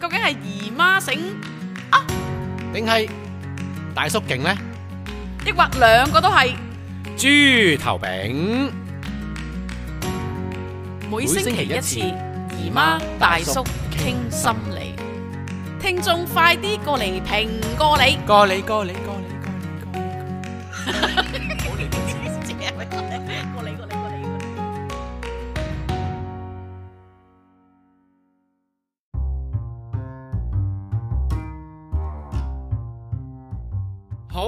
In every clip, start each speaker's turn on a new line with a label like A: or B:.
A: 究竟係姨媽醒啊，
B: 定係大叔勁呢？
A: 抑或兩個都係
B: 豬頭餅？
A: 每星期一次，姨媽大叔傾心理，聽眾快啲過嚟評過你，
B: 過你。好，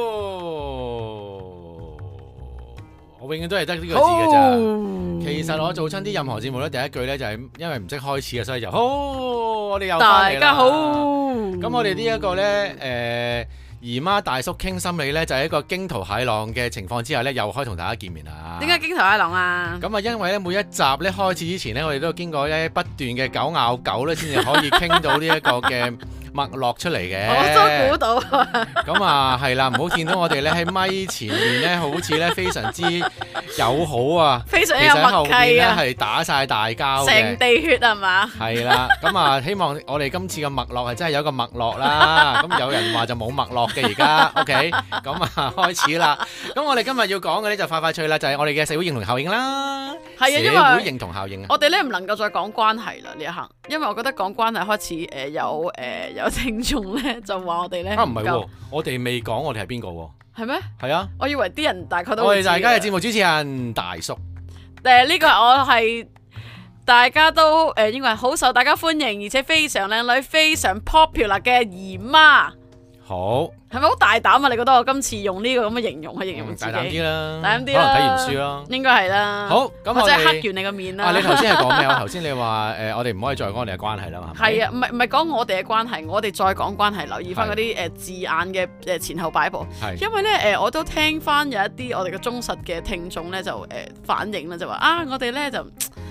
B: 我永遠都係得呢個字嘅咋。其實我做親啲任何節目咧，第一句咧就係因為唔識開始啊，所以就好，我哋又翻嚟啦。大家好，咁我哋呢一個咧，姨媽大叔傾心理咧，就係一個驚濤駭浪嘅情況之下咧，又可以同大家見面啦。
A: 點解驚濤駭浪啊？
B: 咁啊，因為咧每一集咧開始之前咧，我哋都經過咧不斷嘅狗咬狗咧，先至可以傾到呢一個嘅脈絡出嚟嘅，
A: 我都估到。
B: 咁啊，係啦，唔好見到我哋咧喺咪前面咧，好似咧非常之友好啊，
A: 非常有默契啊，
B: 其實喺後邊咧係打晒大交嘅，
A: 成地血係嘛？
B: 係啦，咁啊，希望我哋今次嘅脈絡係真係有一個脈絡啦。咁有人話就冇脈絡嘅而家 ，OK，咁啊開始啦。咁我哋今日要講嘅咧就快脆啦，就係我哋嘅社會認同效應啦。
A: 係啊，因為
B: 社會認同效應啊，
A: 我哋咧唔能夠再講關係啦呢一行，因為我覺得講關係開始有聽眾咧就話我哋咧
B: 唔係喎，我哋未講我哋係邊個喎？
A: 係咩？
B: 係啊，
A: 我以為啲人大概都
B: 我哋大家嘅節目主持人大叔。
A: 呢個我係大家都應該係好受大家歡迎，而且非常靚女、非常 popular 嘅姨媽。
B: 好，
A: 係咪好大膽啊？你覺得我今次用呢個咁嘅形容去形容自己？
B: 大膽啲啦，
A: 大膽啲啦，
B: 可能睇完書咯，應
A: 該係啦。
B: 好，咁我哋
A: 黑完你個面啦。
B: 你頭先係講咩？我頭先你話我哋唔可以再講我哋嘅關係啦嘛。
A: 係啊，唔係講我哋嘅關係，我哋再講關係，留意翻嗰啲字眼嘅前後擺佈。因為咧我都聽翻有一啲我哋嘅忠實嘅聽眾咧就反映啦，就話啊，我哋咧就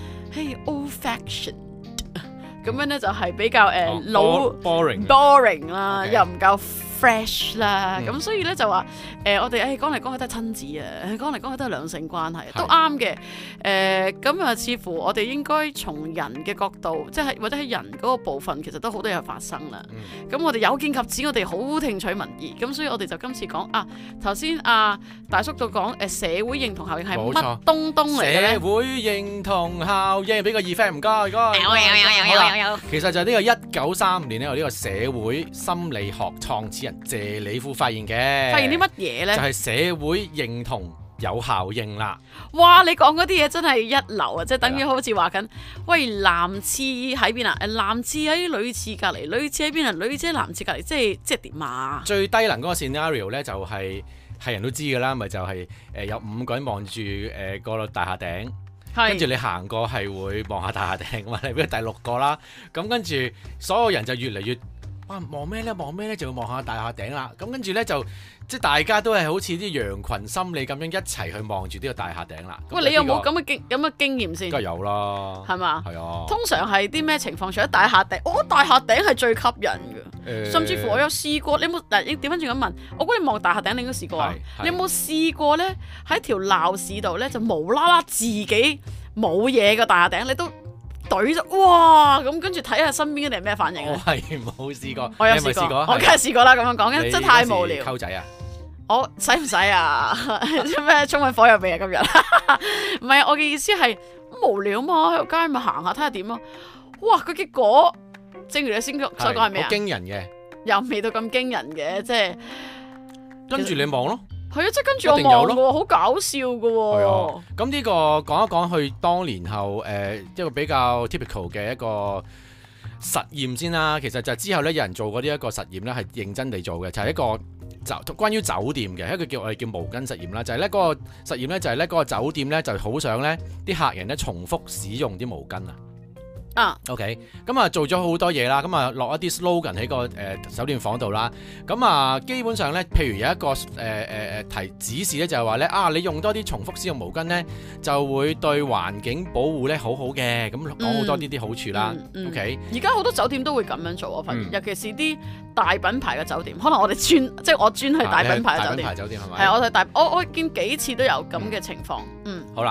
A: old fashion。咁樣咧就係比較老 boring 啦，又唔夠 fresh 啦，咁所以咧就話我哋講嚟講去都係親子啊，講嚟講去都係兩性關係，都啱嘅。咁啊，似乎我哋應該從人嘅角度，即係或者喺人嗰個部分，其實都好多嘢發生啦。咁我哋有見及此，我哋好聽取民意，咁所以我哋就今次講啊，頭先大叔就講社會認同效應係乜東東嚟嘅咧？
B: 社會認同效應，俾個 effect 唔該。
A: 有。
B: 其實就係呢個1935年咧，由呢個社會心理學創始人謝里夫發現嘅。發現
A: 啲乜嘢呢？
B: 就係社會認同有效應啦。
A: 哇！你講嗰啲嘢真係一流啊！即係等於好似話緊，喂，男廁喺邊啊？男廁喺女廁隔離，女廁喺邊啊？女廁喺男廁隔離，即係點啊？最低能嗰個 scenario 咧，就係人都知㗎啦，咪就係有5個人望住個大廈頂。跟住你行過係會望下大廈頂嘛，你俾第6個啦，咁跟住所有人就越嚟越望咩咧，就會望下大廈頂啦。咁跟住咧就即係大家都係好似啲羊群心理咁樣一齊去望住呢個大廈頂啦。喂，你有冇咁嘅經驗先？梗係有啦，係嘛？係啊。通常係啲咩情況？除咗大廈頂，大廈頂係最吸引嘅。甚至乎我有試過，你有冇點翻轉咁問？我估你望大廈頂，你應該試過啊。你有冇試過咧？喺條鬧市度咧，就無啦啦自己冇嘢嘅大廈頂，你都懟咗哇！咁跟住睇下身邊嘅人咩反應啊？我係冇試過，我有試過，我梗係試過啦。咁樣講，真係太無聊。溝仔啊！我使唔使啊？咩衝去火入邊啊？今日唔係，我嘅意思係無聊嘛，喺條街咪行下睇下點咯。哇！個結果正如你先所講係咩啊？好驚人嘅，又未到咁驚人嘅，即係跟住你望咯。係啊，即係跟住我望喎，好搞笑㗎喎。係啊，咁呢個講一講佢當年後一個比較 typical 嘅一個實驗先啦。其實就之後咧，有人做過呢一個實驗咧，係認真地做嘅，就係一個關於酒店嘅一個我哋叫毛巾實驗啦。就係咧嗰個實驗咧，就係咧嗰個酒店咧就好想咧啲客人咧重複使用啲毛巾啊。OK， 咁啊做咗好多嘢啦，咁啊落一啲 slogan 喺個酒店房度啦，咁啊基本上咧，譬如有一個提指示咧，就係話咧你用多啲重複使用毛巾咧，就會對環境保護咧好好嘅，咁講好多呢啲好處啦。OK，而家好多酒店都會咁樣做，我發現，尤其是啲大品牌嘅酒店，可能我哋即係我專去大品牌嘅酒店。大品牌酒店係咪？係我去我見幾次都有咁嘅情況。好啦。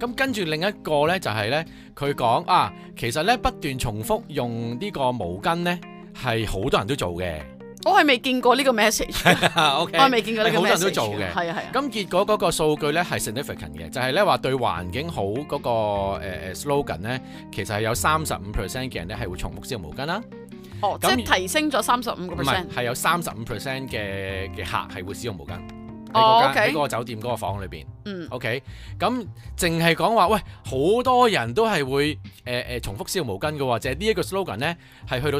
B: 咁跟住另一個咧就係咧，佢講啊，其實咧不斷重複用呢個毛巾咧係好多人都做嘅。
A: 我係未見過呢個 message， 我未見過呢個 message， 好多人都做嘅。係啊係啊。
B: 咁結果嗰個數據咧係 significant 嘅，就係咧話對環境好嗰個slogan咧，其實係有35% 嘅人咧係會重複使用毛巾啦。
A: 哦，即係提升咗35%。唔係，
B: 係有35% 嘅客係會使用毛巾。喺嗰個酒店嗰個房裏邊。OK， 咁淨係講話，喂，好多人都係會重複使用毛巾嘅喎，就係呢一個 slogan 咧係去到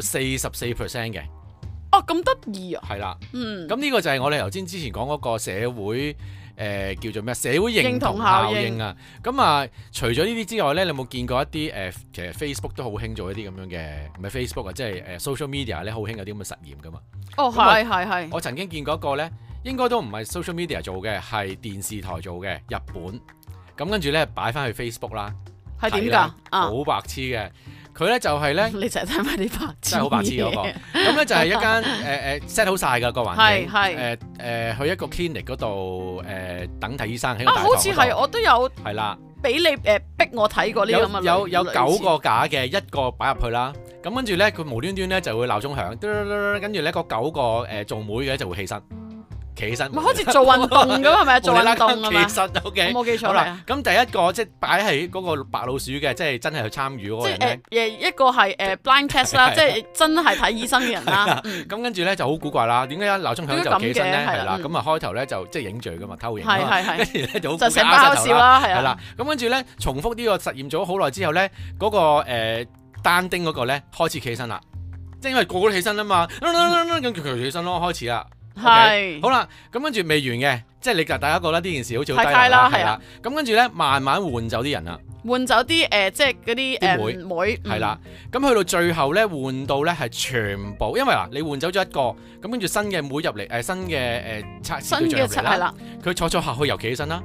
B: 44% 嘅。
A: 哦，咁得意啊！
B: 係啦，咁呢個就係我哋頭先之前講嗰個社會叫做咩社會認同效應啊。咁啊，除咗呢啲之外咧，你有冇見過一啲其實 Facebook 都好興做一啲咁樣嘅，唔係 Facebook 啊，即係social media 咧好興有啲咁嘅實驗噶嘛。哦，係。我曾經見過一個咧，應該都唔係 social media 做嘅，係電視台做嘅，日本。咁跟住咧擺翻去 Facebook 啦。係點㗎？好白痴嘅。佢咧就係咧，你成日睇埋啲白痴，真係好白痴嗰個。咁咧就係一間set 好晒㗎個環境，去一個 clinic 嗰度等睇醫生喺個大堂嗰度。好似係我都有係啦，俾你逼我睇過呢個咁嘅。有9個架嘅，一個擺入去啦。咁跟住咧，佢無端端咧就會鬧鐘響，跟住咧嗰9個做妹嘅就會起身。企起身，咪好似做運動咁係咪？做運動啊嘛。其實 OK， 我冇記錯啦。咁第一個即係擺喺嗰個白老鼠嘅，即係真係去參與嗰個人咧。一個係blind test 啦，即係真係睇醫生嘅人啦。咁跟住咧就好古怪啦，點解一鬧鐘響就企起身咧？係啦，咁啊開頭咧就即係影住噶嘛，偷影。係。跟住咧就好就成包笑啦，係啦。咁跟住咧重複呢個實驗咗好耐之後咧，嗰個單丁嗰個咧開始企起身啦，即係因為個個都起身啊嘛，咁佢起身咯，開始啦。係，好啦，咁跟住未完嘅，即係你大家覺得呢件事好似好低能啦，係啦，咁跟住咧慢慢換走啲人啦，換走啲即係嗰啲妹，係啦，咁去到最後咧換到咧係全部，因為嗱你換走咗一個，咁跟住新嘅妹入嚟，新嘅測試對象入嚟啦，佢坐下去又企起身啦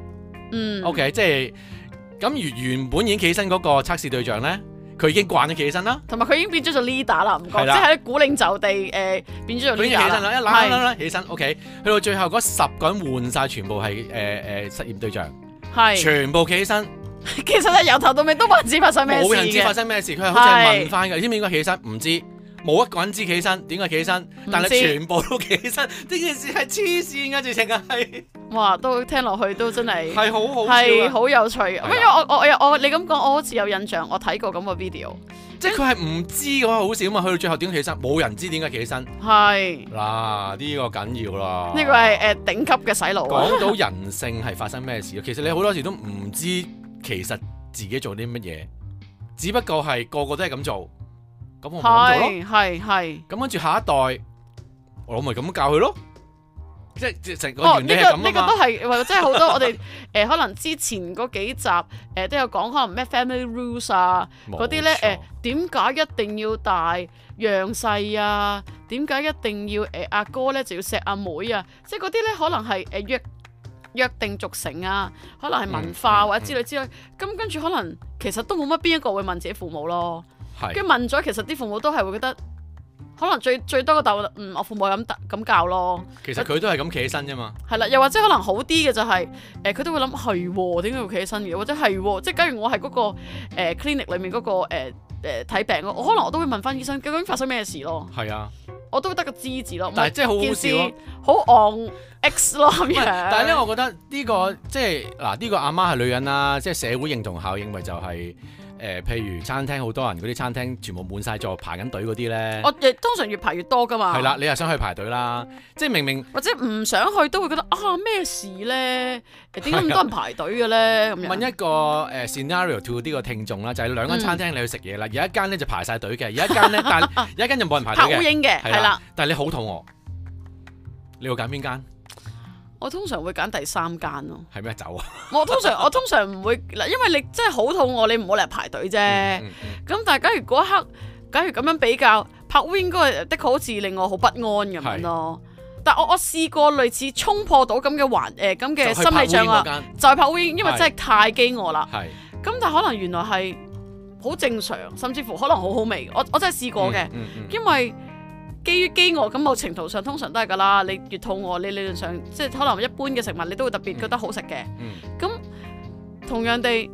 B: ，OK， 即係咁原本已經企起身嗰個測試對象咧。佢已經慣咗企起身啦，同埋佢已經變咗做 leader 啦，唔該，即係鼓領袖地變咗做 leader 啦。佢已經起身啦，一攬起身 ，OK。去到最後嗰10個人換晒，全部係實驗對象，係全部企起身。其實咧由頭到尾都唔知發生咩事嘅，冇人知發生咩事，佢係好似係問翻嘅，你知唔知應該起起身？唔知。冇一個人知企起身，點解企起身？但係全部都企起身，呢件事係黐線㗎，直情係。哇，都聽落去都真係係好好笑，係好有趣。因為我你咁講，我好似有印象，我睇過咁個 video。即係佢係唔知嘅話好少嘛，去到最後點解企起身？冇人知點解企起身。係嗱，呢個緊要啦。呢個係頂級嘅洗腦。講到人性係發生咩事？其實你好多時都唔知其實自己做啲乜嘢，只不過係個個都係咁做。咁我咪咁做咯，係。咁跟住下一代，我咪咁教佢咯，即係成個原理係咁啊嘛。呢個都係，或者即係好多我哋可能之前嗰幾集都有講，可能咩 family rules 啊嗰啲咧點解一定要大讓細啊？點解一定要阿哥咧就要錫阿妹啊？即係嗰啲咧可能係約定俗成啊，可能係文化或者之類之類。咁跟住可能其實都冇乜邊一個會問自己父母咯。跟住問咗，其實啲父母都係會覺得，可能最多個答案，我父母咁教咯。其實佢都係咁企起身啫嘛。係啦，又或者可能好啲嘅就係，佢都會諗係點解要企起身嘅，或者係即係假如我係嗰個clinic 裏面嗰個睇病咯，可能我都會問翻醫生究竟發生咩事咯。係啊，我都會得個知字咯。但係真係好好笑咯，好 on X 咯咁樣。但係咧，我覺得呢個即係嗱，呢個阿媽係女人啦，即係社會認同效應咪就係。譬如餐廳好多人嗰啲餐廳全部滿晒座排緊隊嗰啲咧，我亦通常越排越多噶嘛。係啦，你又想去排隊啦，即係明明或者唔想去都會覺得咩事咧？點解咁多人排隊嘅咧？咁樣問一個scenario to 呢個聽眾啦，就係兩間餐廳你去食嘢啦，有一間咧就排晒隊嘅，有一間咧但有一間就冇人排隊嘅。拍烏蠅嘅係啦，但係你好肚餓，你會揀邊間？我通常會揀第3間咯。係咩走啊？我通常唔會嗱，因為你真係好肚餓，你唔好嚟排隊啫。咁但係假如嗰一刻，假如咁樣比較，拍烏蠅嗰個的確好似令我好不安咁樣咯。但我試過類似衝破到咁嘅咁嘅心理障礙，就係拍烏蠅，因為真係太飢餓啦。咁但係可能原來係好正常，甚至乎可能好好味。我真係試過嘅，因為。基於飢餓咁，某程度上通常都係㗎啦。你越肚餓，你理論上即係可能一般嘅食物，你都會特別覺得好食嘅。咁同樣地，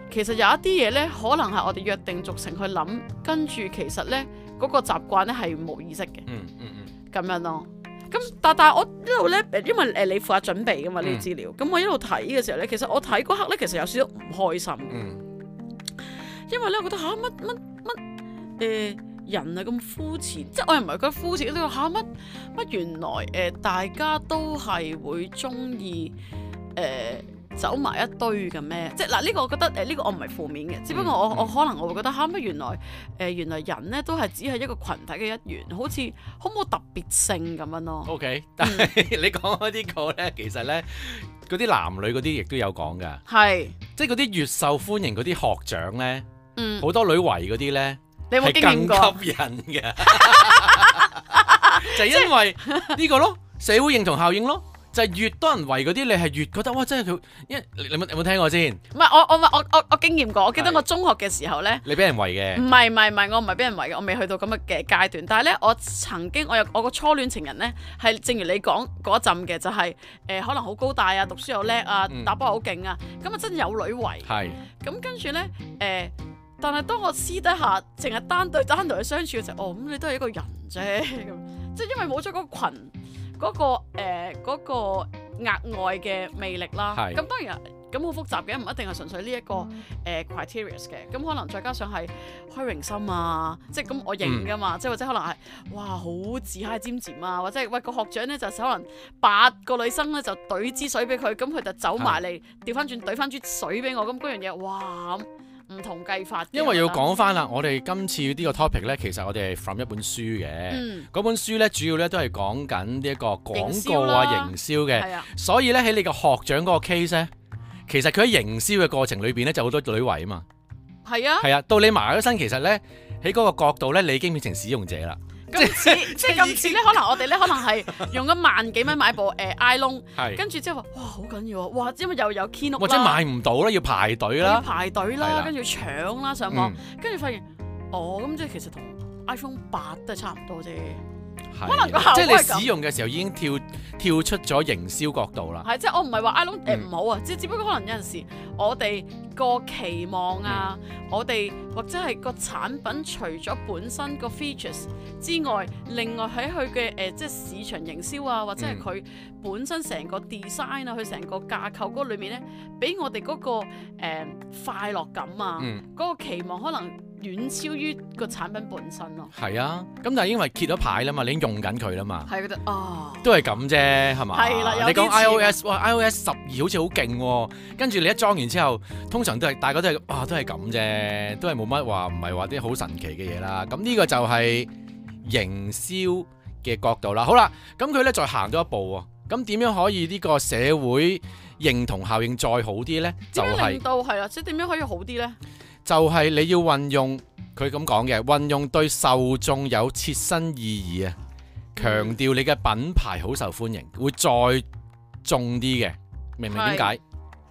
A: 其實有一啲嘢咧，可能係我哋約定俗成去諗，跟住其實咧嗰個習慣咧係冇意識嘅。咁樣咯。咁但係我一路咧，因為你負責準備噶嘛呢啲資料，咁我一路睇嘅時候咧，其實我睇嗰刻咧，其實有少少唔開心。因為咧，我覺得乜人啊咁膚淺，即係我又唔係覺得膚淺，呢個乜原來大家都係會中意走埋一堆嘅咩？即係嗱，呢個我覺得呢個我唔係負面嘅，只不過我可能我會覺得乜原來人咧都係只係一個群體嘅一員，好似好冇特別性咁樣咯。OK，
B: 但係你講開呢個咧，其實咧嗰啲男女嗰啲亦都有講㗎，
A: 係
B: 即係嗰啲越受歡迎嗰啲學長咧，好多女圍嗰啲咧，
A: 你有冇經驗過？
B: 係更吸引嘅，就係因為呢個咯，社會認同效應咯。就係越多人圍嗰啲，你係越覺得哇！真係佢，你有冇聽過先？
A: 唔係我經驗過，我記得我中學嘅時候咧，
B: 你俾人圍嘅？唔
A: 係，我唔係俾人圍嘅，我未去到咁嘅階段。但係咧，我曾經我個初戀情人咧，係正如你講嗰陣嘅，就係可能好高大啊，讀書又叻啊，打波好勁啊，咁啊真係有女圍。係。咁跟住咧但係當我私底下淨係單對去相處嘅時候，咁你都係一個人啫，咁即係因為冇咗嗰個羣。嗰個額外嘅魅力啦，咁當然咁好複雜嘅，唔一定係純粹呢一個criteria 嘅，咁可能再加上係虛榮心啊，即係咁我認㗎嘛，即係或者可能係哇好自嗨尖尖啊，或者喂個學長咧就可能8個女生咧就懟支水俾佢，咁佢就走埋嚟調翻轉懟翻支水俾我，咁嗰樣嘢哇唔同計法。
B: 因為要講翻啦，我哋今次呢個 topic 咧，其實我哋係 from 一本書嘅，嗰本書咧主要咧都係講緊呢一個廣告啊、營銷嘅，所以咧喺你個學長嗰個 case 咧，其實佢喺營銷嘅過程裏邊咧就好多女圍啊嘛。係啊，到你埋咗身，其實咧喺嗰個角度咧，你已經變成使用者啦。
A: 即係今次咧，可能我哋咧可能係用咗萬幾蚊買部iPhone，跟住之後話哇好緊要啊，哇因為又有 Keynote 啦，或者買唔到啦，要排隊啦，跟住搶啦上網，跟住發現咁即係其實同 iPhone 8都係差唔多啫。可能個效果
B: 即係你使用嘅時候已經跳出咗營銷角度啦。
A: 係即係我唔係話 iPhone 唔好啊，只不過可能有陣時我哋個期望啊，我哋或者係個產品除咗本身個 features 之外，另外喺佢嘅即係市場營銷啊，或者係佢本身成個 design 啊，佢成個架構嗰裏面咧，俾我哋嗰個快樂感啊，嗰個期望可能遠超於個產品本身咯。係
B: 啊，咁但係因為揭咗牌啦嘛，你已經用緊佢啦嘛。
A: 係覺得
B: 都係咁啫，係嘛？係啦，你講 iOS， 哇 iOS 12好似好勁喎，跟住你一裝完之後，通常都係大家都係都係咁啫，都係冇乜話，唔係話啲好神奇嘅嘢啦。咁呢個就係營銷嘅角度啦。好啦，咁佢咧再行多一步喎，咁點樣可以呢個社會認同效應再好啲咧？就係令到係啦，即係點樣可以好啲咧？就係你要運用佢咁講嘅，運用對受眾有切身意義啊，強調你嘅品牌好受歡迎，會再重啲嘅，明唔明點解？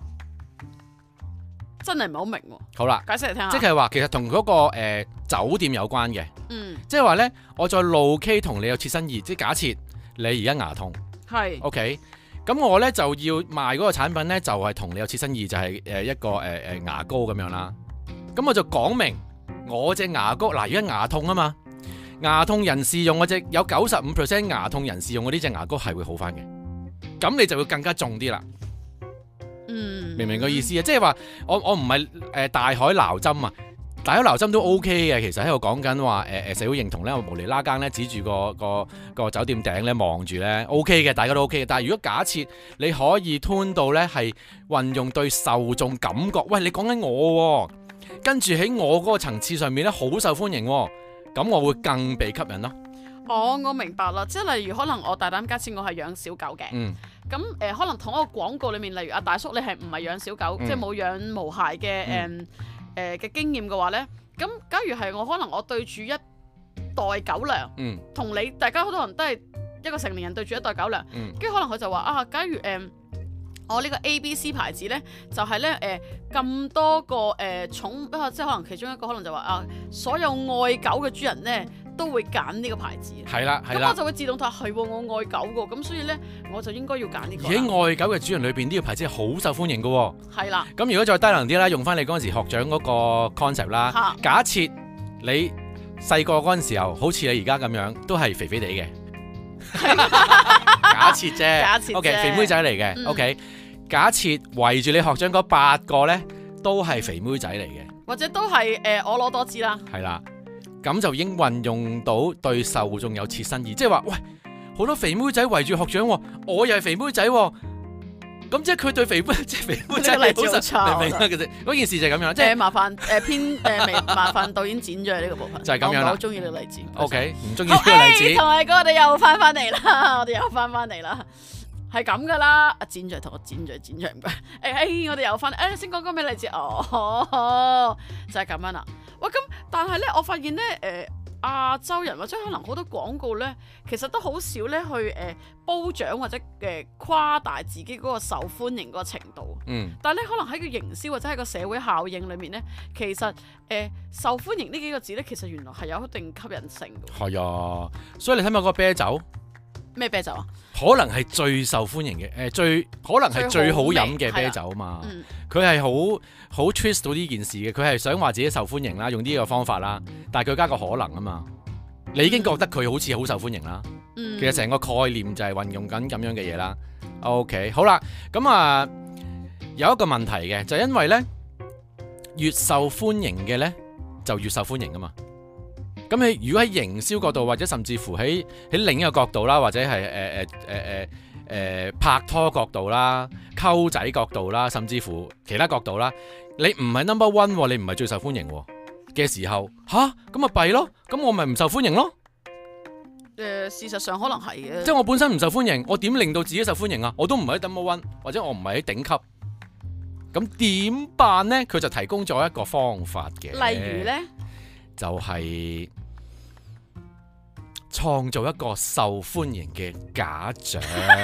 B: 真係唔係好明喎。好啦，解釋嚟聽下。即係話其實同嗰個酒店有關嘅，即係話咧，我再locate同你有切身意義，即係假設你而家牙痛，係 OK，咁我咧就要賣嗰個產品咧，就係同你有切身意義，就係一個牙膏咁樣啦。咁我就講明我隻牙膏嗱，而家牙痛啊嘛，牙痛人士用嗰隻有95% 牙痛人士用嗰啲隻牙膏係會好翻嘅，咁你就會更加重啲啦。明唔明個意思啊？即係話我唔係大海撈針啊，大海撈針都 OK 嘅。其實喺度講緊話社會認同咧，我無厘啦更咧指住個酒店頂咧望住咧 OK 嘅，大家都 OK 嘅。但係如果假設你可以 tune 到咧係運用對受眾感覺，喂你講緊我喎。跟住喺我嗰個層次上面咧，好受歡迎喎，咁我會更被吸引咯。我明白啦，即係例如可能我大膽假設我係養小狗嘅，咁可能同一個廣告裏面，例如阿大叔你係唔係養小狗，即係冇養毛孩嘅嘅經驗嘅話咧，咁假如係我可能我對住一袋狗糧，同你大家好多人都係一個成年人對住一袋狗糧，跟住可能佢就話假如我呢個 ABC 牌子咧，就係咧咁多個寵，即係可能其中一個可能就話所有愛狗嘅主人咧
A: 都會揀呢個牌子。
B: 係啦，
A: 咁我就會自動話係喎，我愛狗喎，咁所以咧我就應該要揀呢個。
B: 而喺愛狗嘅主人裏邊，呢個牌子係好受歡迎嘅喎。
A: 係啦。
B: 咁如果再低能啲啦，用翻你嗰陣時學長嗰個 concept 啦。假設你細個嗰陣時候，好似你而家咁樣，都係肥肥地嘅。假設啫。假設。OK， 肥妹仔嚟嘅。OK。假設圍住你學長嗰8個咧，都係肥妹仔嚟嘅，或者
A: 都係我攞多支啦。
B: 係啦，咁就已經運用到對受眾有切身意，即係話喂，好多肥妹仔圍住學長，我又係肥妹仔，咁即係佢對肥妹即係肥妹仔嚟好實，明唔明啊？其實嗰件事就係咁樣，即係麻
A: 煩麻煩導演剪咗呢個部分，
B: 就係咁樣啦。我
A: 好中意呢個例子。
B: OK， 唔中意呢個例子。
A: 同埋我哋又翻嚟啦，我哋又翻嚟啦。係咁噶啦，阿剪咗同我剪咗唔該。我哋又翻，先講咩例子？就係咁樣啦。喂，咁但係咧，我發現咧，亞洲人或者可能好多廣告咧，其實都好少咧去褒獎或者誇大自己嗰個受歡迎嗰個程度。但係咧，可能喺個營銷或者喺個社會效應裏面咧，其實受歡迎呢幾個字咧，其實原來係有一定吸引性嘅。係啊，
B: 所以你睇下嗰個啤酒。
A: 咩啤酒啊？
B: 可能係最受歡迎嘅，可能係最好飲嘅啤酒嘛。佢係好 twist 到呢件事嘅，佢係想話自己受歡迎啦，用呢個方法啦。但係佢加個可能啊嘛，你已經覺得佢好似好受歡迎啦。其實成個概念就係運用緊咁樣嘅嘢啦。OK， 好啦，咁啊有一個問題嘅，就係因為咧越受歡迎嘅咧就越受歡迎啊嘛。咁你如果喺營銷角度，或者甚至乎喺另一個角度啦，或者係拍拖角度啦、溝仔角度啦，甚至乎其他角度啦，你唔係 number one， 你唔係最受歡迎嘅時候，咁咪弊咯，咁我咪唔受歡迎咯。
A: 事實上可能係嘅。
B: 即係我本身唔受歡迎，我點令到自己受歡迎啊？我都唔係喺 number one， 或者我唔係喺頂級，咁點辦呢？佢就提供咗一個方法嘅。
A: 例如呢？
B: 就係創造一個受歡迎嘅假象。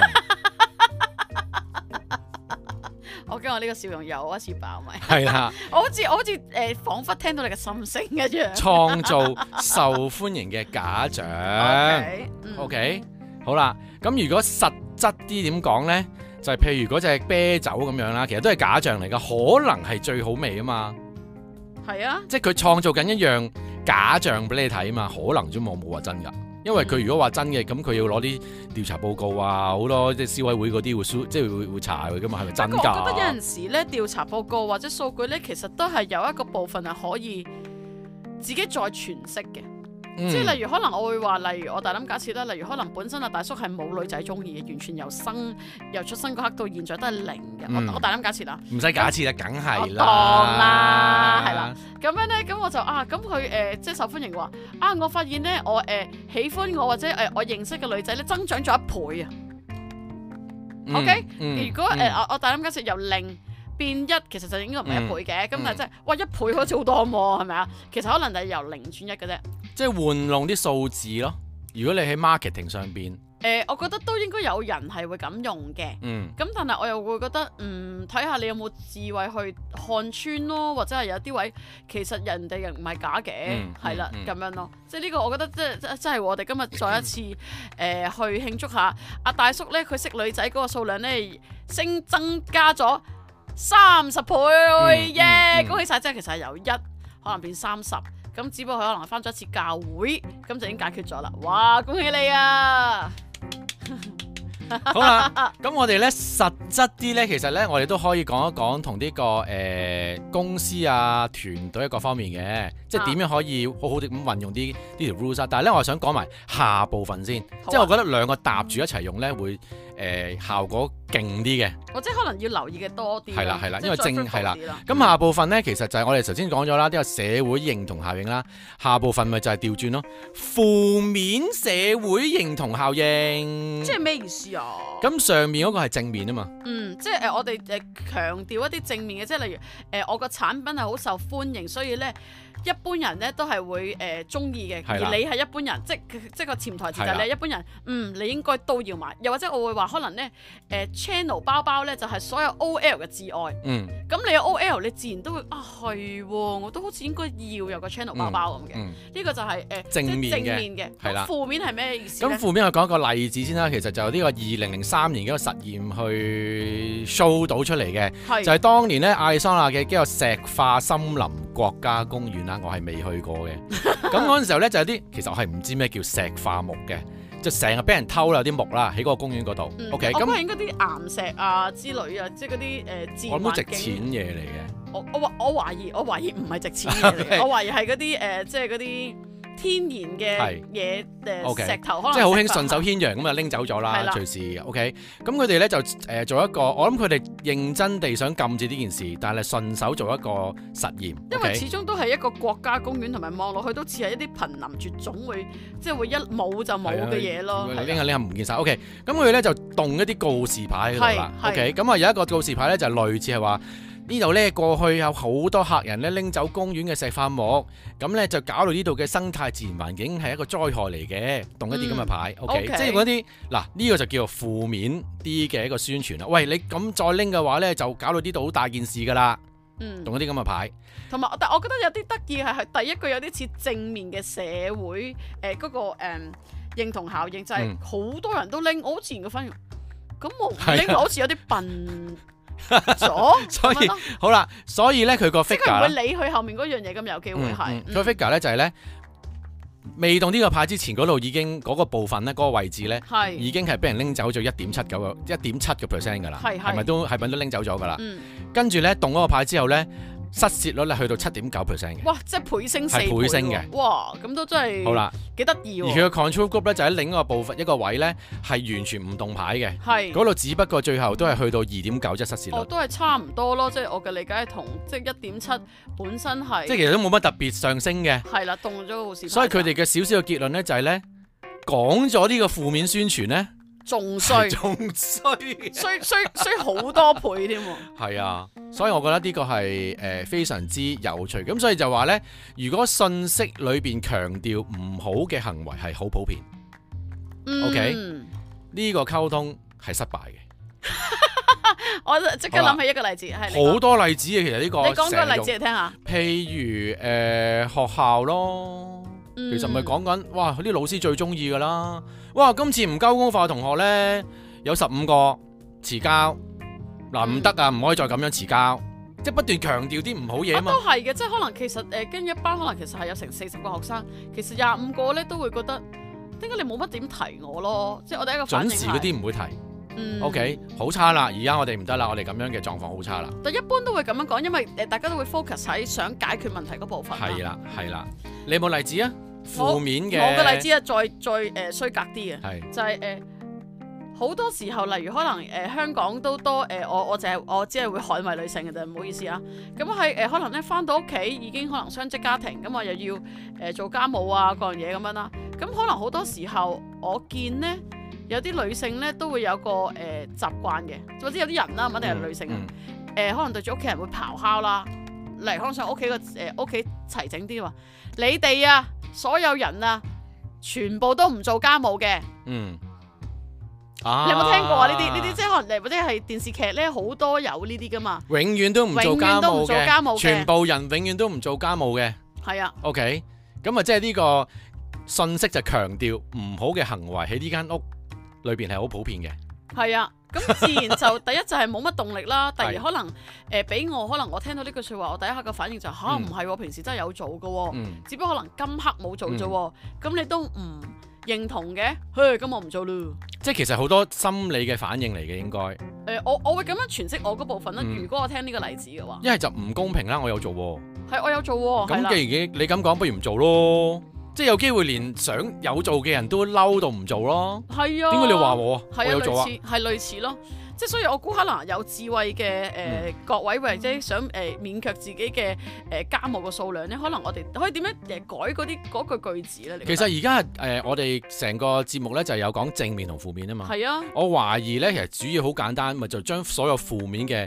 A: 我驚我呢個笑容又一次爆咪。
B: 係啦，
A: 我好似彷彿聽到你嘅心聲一樣。
B: 創造受歡迎嘅假象。OK， 好啦，咁如果實質啲點講呢？就係譬如嗰隻啤酒咁樣啦，其實都係假象嚟㗎，可能係最好味啊嘛。
A: 係啊，
B: 即係佢創造緊一樣假象俾你睇啊嘛，可能啫嘛，冇話真㗎。因為佢如果話真嘅，咁佢要攞啲調查報告啊，好多即係消委會嗰啲會即係會查佢㗎嘛，係咪真㗎？
A: 我覺得有陣時咧調查報告或者數據咧，其實都係有一個部分係可以自己再詮釋嘅。即係例如可能我會話，例如我大膽假設啦，例如可能本身阿大叔係冇女仔中意嘅，完全由出生嗰刻到現在都係零嘅。我大膽假設啦，
B: 唔使假設啦，梗係啦，
A: 當啦，係啦。咁樣咧，咁我就咁佢即係受歡迎嘅話，我發現咧我喜歡我或者我認識嘅女仔咧增長咗1倍啊。OK，如果我大膽假設由0變1，其實就應該唔係1倍嘅。咁但係真係哇1倍好似好多喎，係咪啊？其實可能係由0轉1嘅啫。
B: 即係玩弄啲數字咯。如果你喺 marketing 上邊，
A: 我覺得都應該有人係會咁用嘅。咁但係我又會覺得，睇下你有冇智慧去看穿咯，或者係有啲位其實人哋唔係假嘅，係啦咁樣咯。即係呢個我覺得即係我哋今日再一次去慶祝下阿大叔咧，佢識女仔嗰個數量咧增加咗30倍耶！恭喜晒！即係其實係由1可能變30。咁只不過佢可能返咗一次教會，咁就已經解決咗啦！哇，恭喜你啊！
B: 好啦，咁我哋咧實質啲咧，其實咧我哋都可以講一講同呢個公司啊、團隊各方面嘅，即係點樣可以好好地咁運用呢條 rules 啊。但係咧，我想講埋下部分先，即係我覺得兩個搭住一齊用咧會效果勁啲嘅，或者
A: 可能要留意嘅多啲。
B: 係啦，因為係啦。咁下部分咧，其實就係我哋頭先講咗啦，呢個社會認同效應啦。下部分咪就係調轉咯，負面社會認同效應。
A: 即係咩意思啊？
B: 咁上面嗰個係正面啊嘛。
A: 即係我哋強調一啲正面嘅，即係例如我個產品係好受歡迎，所以咧一般人咧都係會中意嘅，而你係一般人，即個潛台詞就係你一般人，你應該都要買。又或者我會話可能咧Channel 包包咧就係所有 OL 嘅至愛。咁你有 OL，你自然都會係喎，我都好似應該要有個 Channel 包包咁嘅。呢個就係
B: 正面嘅。係啦。
A: 負面係咩意思咧？
B: 咁負面我講一個例子先啦。其實就呢個2003年嘅一個實驗去 show 到出嚟嘅，就係當年咧亞利桑那嘅一個石化森林國家公園啦，我係未去過嘅。咁嗰陣時候咧就有啲，其實我係唔知咩叫石化木嘅，就成日俾人偷啦，有啲木啦喺嗰個公園嗰度。OK， 咁係應該啲岩石啊之類啊，即係嗰啲自然環境。我諗都值錢嘢嚟嘅。我懷疑唔係值錢嘢嚟嘅，我懷疑係嗰啲即係嗰啲天然嘅嘢石頭，可能即係好興順手牽羊咁啊拎走咗啦，隨時 OK。咁佢哋咧就做一個，我諗佢哋認真地想禁止呢件事，但係順手做一個實驗。因為始終都係一個國家公園，同埋望落去都似係一啲瀕臨絕種會即係會一冇就冇嘅嘢咯。拎下唔見晒 OK。咁佢哋咧就動一啲告示牌喺度啦。OK。咁啊有一個告示牌咧就類似係話，呢度咧過去有好多客人咧拎走公園嘅石化木，咁咧就搞到呢度嘅生態自然環境係一個災害嚟嘅，動一啲咁嘅牌 OK， 即係嗰啲嗱呢個就叫做負面啲嘅一個宣傳啦。喂，你咁再拎嘅話咧，就搞到呢度好大件事噶啦。動一啲咁嘅牌。同埋，但我覺得有啲得意係第一句有啲似正面嘅社會嗰個認同效應，就係好多人都拎，我好自然嘅反應，咁我唔拎好似有啲笨。所以好啦，所以咧佢個 figure 佢唔會理佢後面嗰樣嘢，咁有機會係佢 figure 咧就係咧未動呢個牌之前嗰度已經嗰個部分咧嗰個位置咧已經係俾人拎走咗1.7% 噶啦，係咪都拎走咗噶啦？跟住咧動嗰個牌之後咧，失竊率咧去到7.9% 嘅。哇！即係倍升4倍。係倍升嘅。哇！咁都真係好啦，幾得意喎。而佢嘅 control group 咧就喺另一個部分一個位咧係完全唔動牌嘅。係。嗰度只不過最後都係去到2.9失竊率。哦，都係差唔多咯，即係我嘅理解同即係1.7本身係。即係其實都冇乜特別上升嘅。係啦，動咗個告示牌。所以佢哋嘅少少嘅結論咧就係咧講咗呢個負面宣傳咧。仲衰好多倍添喎。係啊，所以我覺得呢個係非常之有趣。咁所以就話呢，如果信息裏邊強調唔好嘅行為係好普遍，OK，呢個溝通係失敗嘅。我即刻諗起一個例子，係好多例子嘅。其實呢個你講個例子嚟聽下。譬如學校咯，其實咪講緊哇，啲老師最中意噶啦。哇！今次唔交功課嘅同學呢，有15個遲交，嗱唔得啊，唔可以再咁樣遲交，即係不斷強調啲唔好嘢啊嘛。都係嘅，即係可能其實跟一班可能其實係有成40個學生，其實25個呢都會覺得點解你冇乜點提我咯？即係我第一個反應係準時嗰啲唔會提。OK， 好差啦！而家我哋唔得啦，我哋咁樣嘅狀況好差啦。但一般都會咁樣講，因為大家都會 focus 喺想解決問題嗰部分。係啦，係啦，你有冇例子啊？負面嘅，我嘅例子啊，再衰格啲嘅，就係好多時候，例如可能香港都多我只係會捍衞女性嘅啫，唔好意思啊。咁係可能咧返到屋企已經可能雙職家庭，咁我又要做家務啊各樣嘢咁樣啦。咁可能好多時候我見呢，有啲女性咧都會有個習慣嘅，或者有啲人啦，唔一定係女性可能對住屋企人會咆哮啦，例如可能上屋企屋企齊整啲話，你哋啊！所有人啊，全部都唔做家務嘅。你有冇聽過啊？呢啲即係可能或者係電視劇咧，好多有呢啲噶嘛。永遠都唔做家務嘅，全部人永遠都唔做家務嘅。係啊。OK，咁啊，即係呢個信息就強調唔好嘅行為喺呢間屋裏邊係好普遍嘅。係啊。咁自然就第一就係冇乜動力啦，第二可能俾我可能我聽到呢句説話，我第一刻嘅反應就嚇唔係喎，平時真係有做嘅喎，只不過可能今刻冇做啫喎，咁你都唔認同嘅，咁我唔做咯。即係其實好多心理嘅反應嚟嘅應該。我會咁樣詮釋我嗰部分啦。如果我聽呢個例子嘅話，一係就唔公平啦，我有做喎。係我有做喎。咁既然你咁講，不如唔做咯。即係有機會連想有做嘅人都嬲到唔做咯。係啊。點解你話我啊？我有做啊。係類似咯。即係所以我估可能有智慧嘅各位或者想勉強自己嘅家務嘅數量咧，可能我哋可以點樣改嗰句句子咧？其實而家我哋成個節目咧就有講正面同負面啊嘛。係啊。我懷疑咧其實主要好簡單，咪就將所有負面嘅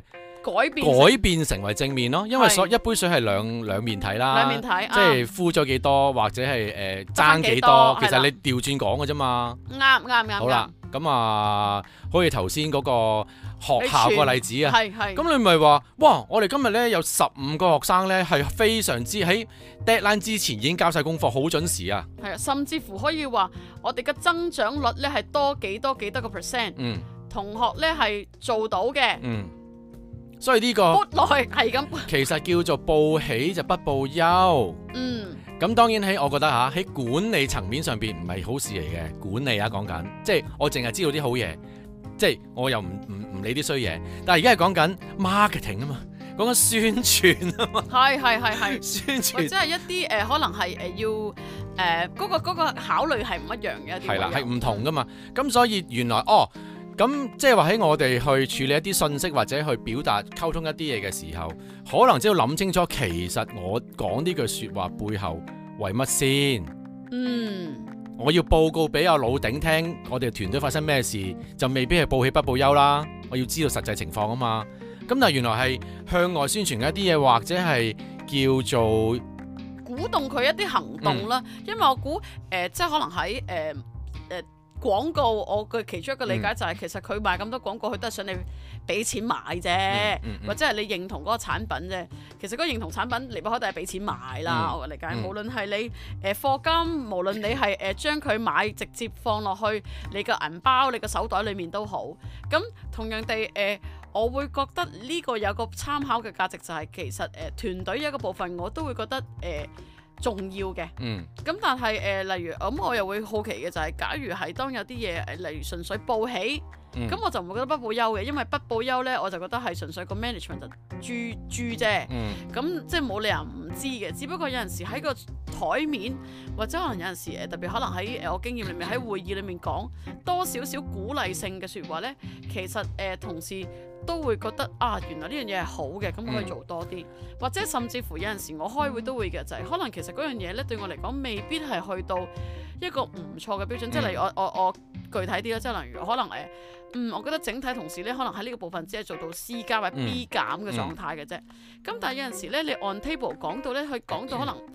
B: 改變成為正面咯，因為一杯水係兩面睇啦，
A: 兩面睇，
B: 即係敷咗幾多或者係爭幾多，其實你調轉講嘅啫嘛。
A: 啱。
B: 好啦，咁啊，好似頭先嗰個學校個例子啊，咁你咪話，哇！我哋今日咧有15個學生咧係非常之喺 deadline 之前已經交晒功課，好準時啊。
A: 係啊，甚至乎可以話我哋嘅增長率咧係多幾多個 percent，同學咧係做到嘅。
B: 所以呢個
A: 係咁，
B: 其實叫做報喜就不報憂。咁當然我覺得喺管理層面上邊唔係好事嚟嘅。管理講緊，即係我淨係知道啲好嘢，即係我又唔理啲衰嘢。但係而家係講緊 marketing 啊嘛，講緊宣傳啊嘛。
A: 係
B: 宣傳，
A: 或者係一啲可能係要嗰個考慮係唔一樣嘅。
B: 係啦，係唔同噶嘛。咁所以原來咁即係話喺我哋去處理一啲信息或者去表達溝通一啲嘢嘅時候，可能只要諗清楚，其實我講呢句說話背後為乜先？我要報告俾阿老頂聽，我哋團隊發生咩事，就未必係報喜不報憂啦。我要知道實際情況啊嘛。咁但係原來係向外宣傳嘅一啲嘢，或者係叫做
A: 鼓動佢一啲行動啦。因為我估即係可能喺廣告，我嘅其中一個理解就係其實佢賣咁多廣告，佢都係想你俾錢買啫，或者係你認同嗰個產品啫。其實嗰個認同產品離不開都係俾錢買啦。我嘅理解，無論係你課金，無論你係將佢買直接放落去你嘅銀包、你嘅手袋裏面都好。咁同樣地我會覺得呢個有個參考嘅價值，就係其實團隊一個部分我都會覺得重要嘅。咁但係例如咁我又會好奇嘅就係，假如係當有啲嘢例如純粹報喜，咁我就唔會覺得不報憂嘅，因為不報憂呢，我就覺得係純粹個 management 就豬啫。咁即係冇理由唔知嘅，只不過有陣時喺個台面，或者可能有陣時特別可能喺我經驗裏面喺會議裏面講多少少鼓勵性嘅説話呢，其實同事都會覺得原來呢樣嘢係好嘅，咁我可以做多啲。或者甚至乎有陣時我開會都會嘅，就係可能其實嗰樣嘢呢對我嚟講未必係去到一個唔錯嘅標準。即係例如我具體啲啦，即係例如可能我覺得整體同事呢，可能喺呢個部分只係做到 C 加或者 B 減嘅狀態嘅啫。咁但係有陣時呢，你 on table 講到呢，佢講到可能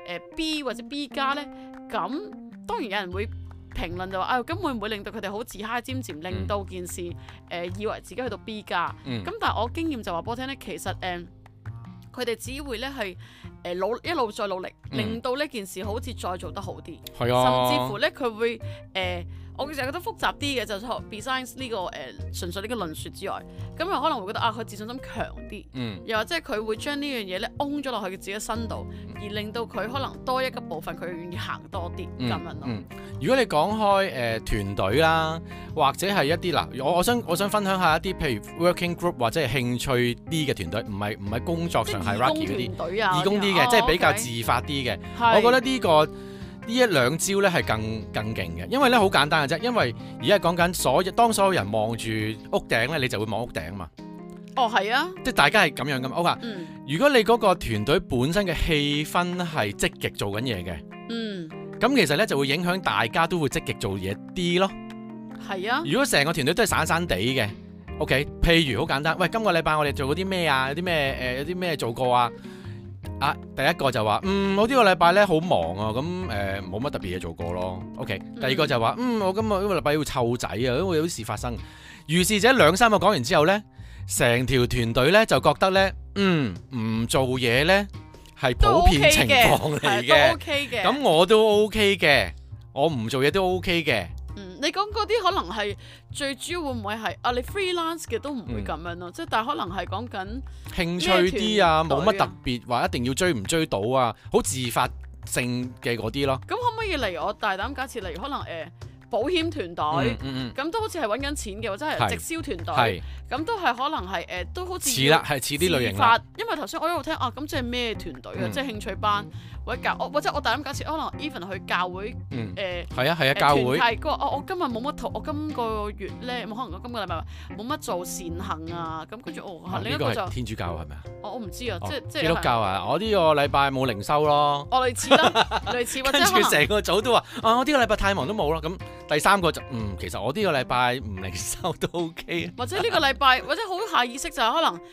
A: B 或者 B 加呢，咁當然有人會評論就話咁會唔會令到佢哋好自嗨尖尖，令到件事以為自己去到 B 加。咁但係我經驗就話俾我聽呢，其實佢哋只會呢係一路再努力，令到呢件事好似再做得好啲。甚至乎呢，佢會我其實覺得複雜啲嘅，就係 besides 呢個純粹呢個論説之外，咁又可能會覺得佢自信心強啲，又或者佢會將呢樣嘢咧擁咗落去佢自己身度，而令到佢可能多一個部分佢願意行多啲咁樣咯。
B: 如果你講開團隊啦，或者係一啲嗱，我想分享下一啲譬如 working group 或者係興趣啲嘅團隊，唔係工作上係 Rocky 嗰啲義工啲嘅，即係比較自發啲嘅。我覺得呢一兩招咧係更勁嘅，因為咧好簡單嘅啫。因為而家講緊當所有人望住屋頂咧，你就會望屋頂嘛。
A: 係啊，
B: 即係大家係咁樣噶嘛。如果你嗰個團隊本身嘅氣氛係積極做緊嘢嘅，咁其實咧就會影響大家都會積極做嘢啲咯。
A: 係啊。如
B: 果成個團隊都係散散地嘅，OK，譬如好簡單，喂，今個禮拜我哋做嗰啲咩啊？有啲咩做過啊？第一個就話我呢個禮拜咧好忙啊，咁冇乜特別嘢做過咯。OK，第二個就話我今個禮拜要湊仔啊，因為有啲事發生。於是者2-3個講完之後咧，成條團隊咧就覺得咧唔做嘢咧係普遍情況嚟嘅，
A: 都 OK 嘅。
B: 咁我都 OK 嘅，我唔做嘢都 OK 嘅。
A: 你講嗰啲可能係最主要會唔會係你 freelance 嘅都唔會咁樣咯，即係但係可能係講緊
B: 興趣啲啊，冇乜特別話一定要追唔追到啊，好自發性嘅嗰啲咯。咁
A: 可唔可以例如我大膽假設，例如可能保險團隊咁都好似係揾緊錢嘅，或者係直銷團隊咁都係可能係都好似似啦，係似啲類型啦。因為頭先我一路聽咁即係咩團隊啊？即係興趣班或者我大膽假設可能 even 去教會
B: 係啊教會
A: 係佢話我今日冇乜我今個月咧可能我今個禮拜冇乜做善行啊，咁跟住另一個就
B: 天主教係咪啊？
A: 我唔知啊，即係
B: 基督教啊！我呢個禮拜冇靈修咯。
A: 類似啦，類似或者可能
B: 成個組都話我呢個禮拜太忙都冇啦。咁第三個就其實我呢個禮拜唔靈修都 OK。
A: 或者呢個禮拜或者好下意識就係可能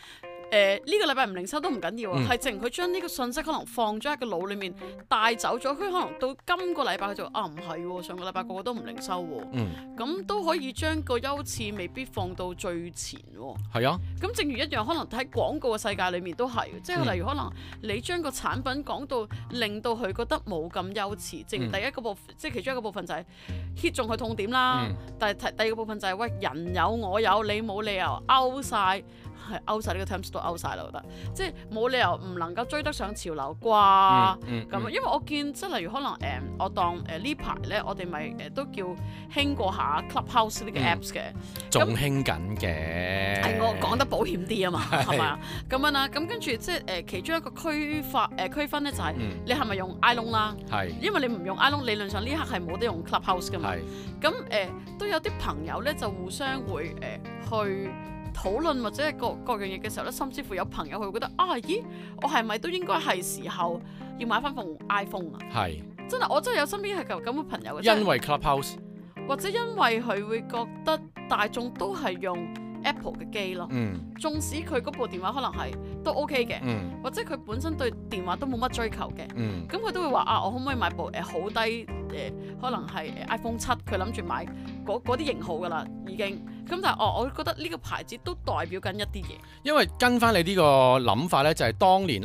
A: 呢個禮拜唔零收都唔緊要啊，係淨佢將呢個信息可能放咗喺個腦裡面帶走咗，佢可能到今個禮拜佢就唔係喎，上個禮拜個個都唔零收喎，咁都可以將個優次未必放到最前喎。係啊，咁正如一樣，可能喺廣告嘅世界裡面都係，即係例如可能你將個產品講到令到佢覺得冇咁優次，正如第一個部分，即係其中一個部分就係 hit 中佢痛點啦，但係第二個部分就係喂，人有我有，你冇理由勾晒。係勾晒呢個 terms 都勾晒啦，我覺得即係冇理由唔能夠追得上潮流啩咁，因為我見即係例如可能我當呢排咧，我哋咪都叫興過下 Clubhouse 呢個 apps 嘅，
B: 仲興緊嘅。
A: 係我講得保險啲啊嘛，係咪啊？咁樣啦，咁跟住即係其中一個區分咧就係你係咪用 iPhone 啦？係，因為你唔用 iPhone，理論上呢刻係冇得用 Clubhouse 噶嘛。咁都有啲朋友咧就互相會去討論或者係各樣嘢嘅時候咧，甚至乎有朋友佢會覺得咦，我係咪都應該係時候要買翻部 iPhone 啊？係真係，我真係有身邊係咁嘅朋友嘅。因為 Clubhouse，或者因為佢會覺得大眾都係用 Apple 嘅機咯。縱使佢嗰部電話可能係都 OK 嘅，或者佢本身對電話都冇乜追求嘅，咁佢都會話我可唔可以買部好低可能係 iPhone 7，佢諗住買嗰啲型號噶啦已經。咁但係我覺得呢個牌子都代表緊一啲嘢。因為跟翻你呢個諗法咧，就係當年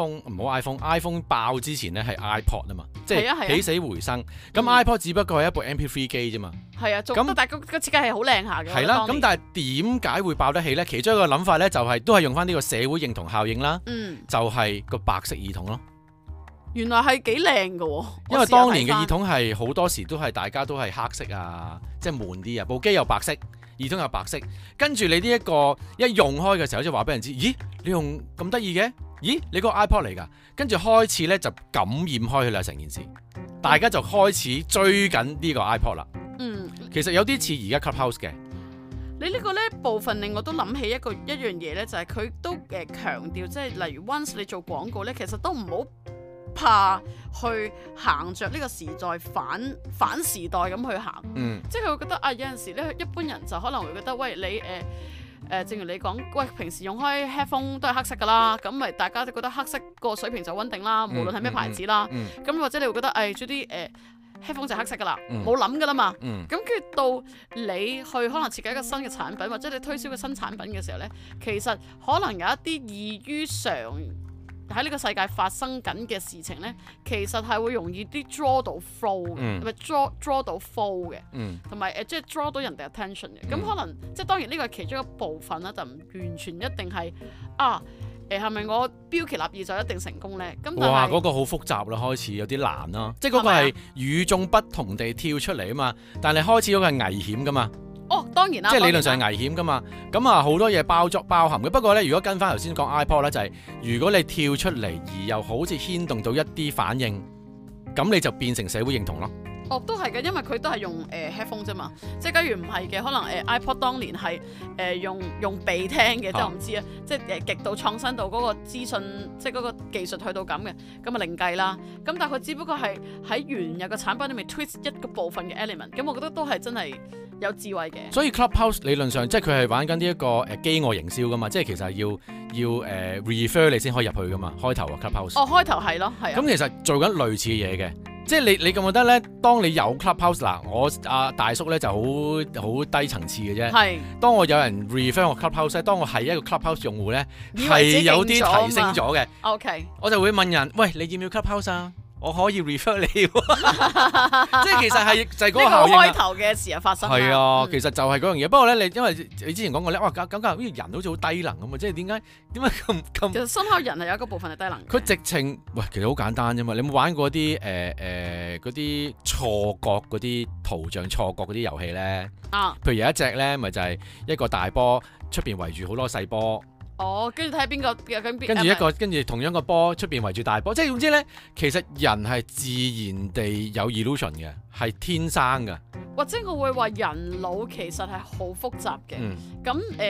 A: iPhone 爆之前咧係 iPod 啊嘛，即係起死回生。咁 iPod 只不過係一部 MP3 機啫嘛。係啊，咁但係個設計係好靚下嘅。係啦，咁但係點解會爆得起咧？其中一個諗法咧就係都係用翻呢個社會認同效應啦。就係個白色耳筒咯。原來係幾靚㗎喎。因為當年嘅耳筒係好多時都係大家都係黑色啊，即係悶啲啊，部機又白色。耳筒有白色，跟住你呢一個一用開嘅時候，就話俾人知，咦，你用咁得意嘅？咦，你個 iPod 嚟㗎？跟住開始咧就感染開佢啦，成件事，大家就開始追緊呢個 iPod 啦。其實有啲似而家 Clubhouse 嘅。你呢個咧部分令我都諗起一樣嘢咧，就係佢都強調，即係例如 once 你做廣告咧，其實都唔好怕去行着呢個時代反時代咁去行，即係佢會覺得有陣時咧，一般人就可能會覺得喂，你正如你講，喂，平時用開 headphone 都係黑色噶啦，咁咪大家都覺得黑色個水平就穩定啦，無論係咩牌子啦，咁或者你會覺得做啲headphone 就黑色噶啦，冇諗噶啦嘛，咁跟住到你去可能設計一個新嘅產品，或者你推銷個新產品嘅時候咧，其實可能有一啲異於常喺呢個世界發生緊嘅事情咧，其實係會容易啲 draw 到 flow 嘅，咪 draw 到 flow 嘅，同埋即係 draw 到人哋 attention 嘅。咁可能即係當然呢個係其中一個部分啦，就唔完全一定係係咪我標奇立異就一定成功咧？咁哇，嗰個好複雜啦，開始有啲難啦，即係嗰個係與眾不同地跳出嚟啊嘛，但係開始嗰個係危險噶嘛。當然啦，即係理論上係危險噶嘛，咁好多嘢包含嘅。不過咧，如果跟翻頭先講 iPod 咧，就係如果你跳出嚟而又好似牽動到一啲反應，咁你就變成社會認同咯。都係嘅，因為佢都係用headphone 啫嘛。即係假如唔係嘅，可能iPod 當年係用鼻聽嘅，即係我唔知啊。即係極度創新到嗰個資訊，即係嗰個技術去到咁嘅，咁另計啦。咁但係佢只不過係喺原有嘅產品裏面 twist 一個部分嘅 element。咁我覺得都係真係有智慧嘅。所以 Clubhouse 理論上即係佢係玩緊呢一個飢餓營銷噶嘛，即係其實係要refer 你先可以入去噶嘛。開頭啊 Clubhouse。開頭係咯，係啊。咁其實做緊類似嘅嘢嘅。即係你覺唔覺得咧？當你有 Clubhouse 嗱，我大叔咧就好低層次嘅啫。係。當我有人 refer 我 Clubhouse，當我係一個 Clubhouse 用戶咧，係有啲提升咗嘅。OK。我就會問人：喂，你要唔要 Clubhouse 啊？我可以 refer 你。即係其實係就係嗰個效應。呢個開頭嘅時候發生。係啊，其實就係嗰樣嘢。不過咧，因為你之前講過咧，哇，咁好似人好似好低能咁啊！即係點解咁？其實深刻人係有一個部分係低能。佢直情其實好簡單啫嘛。你有冇玩過啲嗰啲錯覺嗰啲圖像錯覺嗰啲遊戲咧？譬如有一隻咧，咪就係一個大波出邊圍住好多細波。跟住睇下邊個，跟住同樣個波出邊圍住大波，即係總之咧，其實人係自然地有 illusion 嘅，係天生嘅。或者我會話人腦其實係好複雜嘅。咁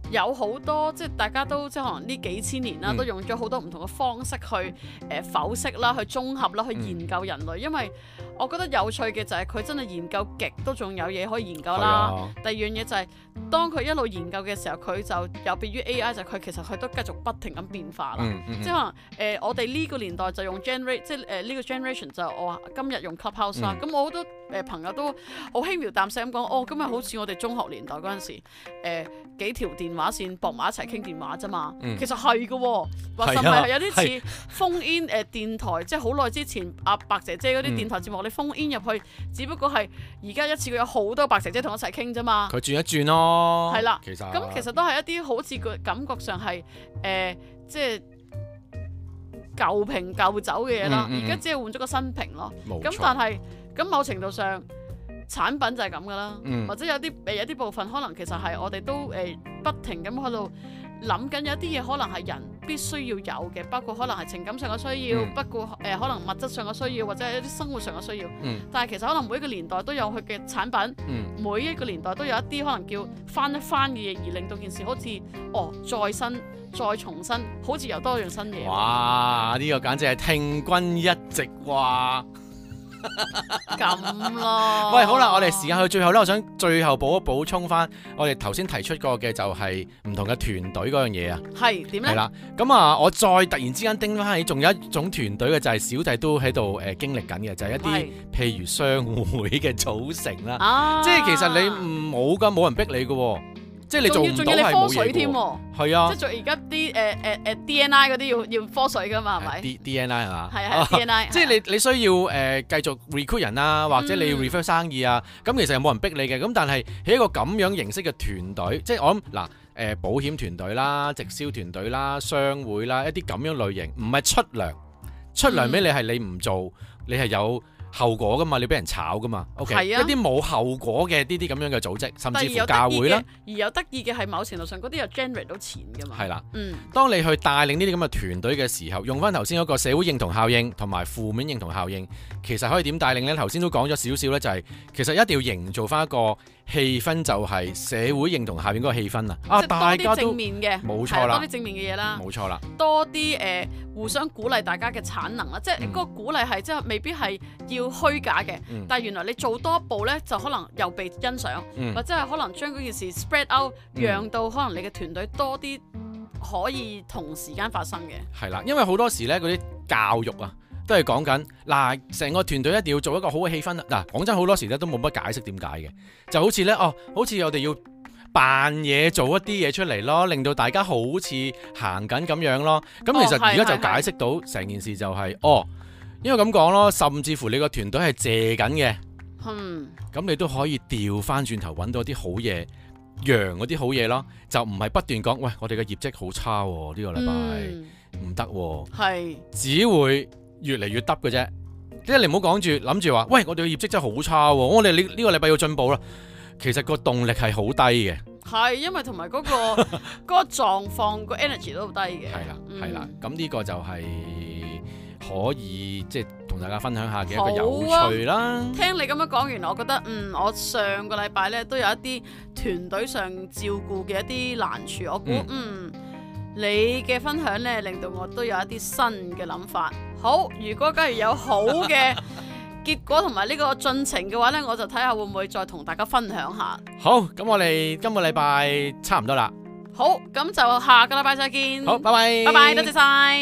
A: 有好多即係大家都即係可能呢幾千年啦，都用咗好多唔同嘅方式去剖析啦、去綜合啦、去研究人類。因為我覺得有趣嘅就係佢真係研究極都仲有嘢可以研究啦。第二樣嘢就係當佢一路研究嘅時候，佢就有別於 AI， 就係佢其實佢都繼續不停咁變化啦。即係可能我哋呢個年代就用 generate， 即係呢個 generation 就我話今日用 Clubhouse 啦。咁我好多朋友都好輕描淡寫咁講，今日好似我哋中學年代嗰陣時，幾條電話線駁埋一齊傾電話啫嘛。其實係嘅喎，或甚至係有啲似 phone in 電台，即係好耐之前阿白姐姐嗰啲電台節目，你 phone in 入去，只不過係而家一次過有好多白姐姐同我一齊傾啫嘛。
B: 佢轉一轉咯，
A: 係啦。其實都係一啲好似個感覺上係即係舊瓶舊酒嘅嘢啦。而家只係換咗個新瓶咯。咁但係咁某程度上產品就係咁噶啦。或者有啲部分可能其實係我哋都不停咁喺度諗緊，有啲嘢可能係人必須要有嘅，包括可能係情感上嘅需要，不過可能物質上嘅需要，或者係一啲生活上嘅需要。但係其實可能每一個年代都有佢嘅產品，每一個年代都有一啲可能叫翻一番嘅嘢，而令到件事好似再新再重新，好似又多樣新嘢。
B: 哇！呢個簡直係聽君一席話。
A: 咁咯。
B: 喂，好啦，我哋時間去最後咧，我想最後補充翻，我哋頭先提出過嘅就係唔同嘅團隊嗰樣嘢啊。係點咧？係啦，咁啊，我再突然之間叮翻起，仲有一種團隊嘅就係小弟都喺度經歷緊嘅，就係一啲譬如商會嘅組成啦。即係其實你冇噶，冇人逼你噶。即係你做唔到係冇嘢添喎，係啊！即係做而家啲DNI 嗰啲要科水噶嘛，係咪？DNI 係嘛？係啊，DNI。即係你需要繼續 recruit 人啊，或者你要 refer 生意啊，咁其實又冇人逼你嘅。咁但係喺一個咁樣形式嘅團隊，即係我諗嗱保險團隊啦、直銷團隊啦、商會啦，一啲咁樣類型，唔係出糧俾你係你唔做，你係有後果噶嘛，你俾人炒噶嘛 ，OK？一啲冇後果嘅呢啲咁樣嘅組織，甚至乎教會啦。而有得意嘅係某程度上嗰啲又 generate 到錢噶嘛。係啦，當你去帶領呢啲咁嘅團隊嘅時候，用翻頭先嗰個社會認同效應同埋負面認同效應，其實可以點帶領呢？頭先都講咗少少呢，就係其實一定要營造翻一個氣氛，就係社會認同效應嗰個氣氛啊！大家都正面嘅，冇錯啦，多啲正面嘅嘢啦，冇錯啦，多啲互相鼓勵大家嘅產能啦，即係嗰個鼓勵係即係未必係要虛假嘅，但係原來你做多一步呢，就可能又被欣賞，或者係可能將嗰件事 spread out，讓到可能你嘅團隊多啲可以同時間發生嘅。係啦，因為好多時呢，嗰啲教育啊，都係講緊嗱，成個團隊一定要做一個好嘅氣氛啦。嗱，講真，好多時咧都冇乜解釋點解嘅，就好似咧好似我哋要扮嘢做一啲嘢出嚟咯，令到大家好似行緊咁樣咯。咁其實而家就解釋到成件事就係因為咁講咯，甚至乎你個團隊係借緊嘅，咁你都可以調翻轉頭揾到啲好嘢，揚嗰啲好嘢咯，就唔係不斷講喂，我哋嘅業績好差喎，呢個禮拜唔得喎，係只會越嚟越得嘅啫。即係你唔好講住諗住話，喂，我哋嘅業績真係好差喎，我哋呢個禮拜要進步啦。其實個動力係好低嘅，係因為同埋嗰個狀況個 energy 都好低嘅。係啦，咁呢個就係可以即係同大家分享下嘅一個有趣啦。聽你咁樣講完，我覺得我上個禮拜咧都有一啲團隊上照顧嘅一啲難處，我估你嘅分享咧令到我都有一啲新嘅諗法。好，如果假如有好嘅結果同埋呢個進程嘅話呢，我就睇下會唔會再同大家分享下。好，咁我哋今個禮拜差唔多啦。好，咁就下個禮拜再見。好，拜拜。拜拜，多謝晒。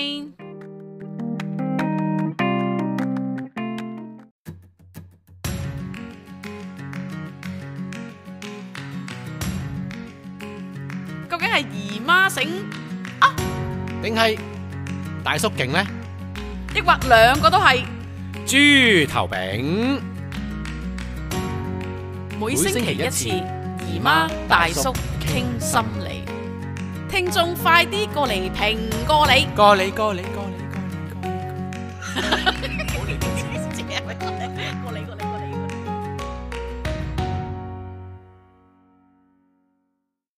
B: 究竟係姨媽醒啊，定係大叔勁呢？抑或兩個都係？豬頭餅，每星期一次，姨媽大叔傾心理，聽眾快啲過嚟評過你，過你。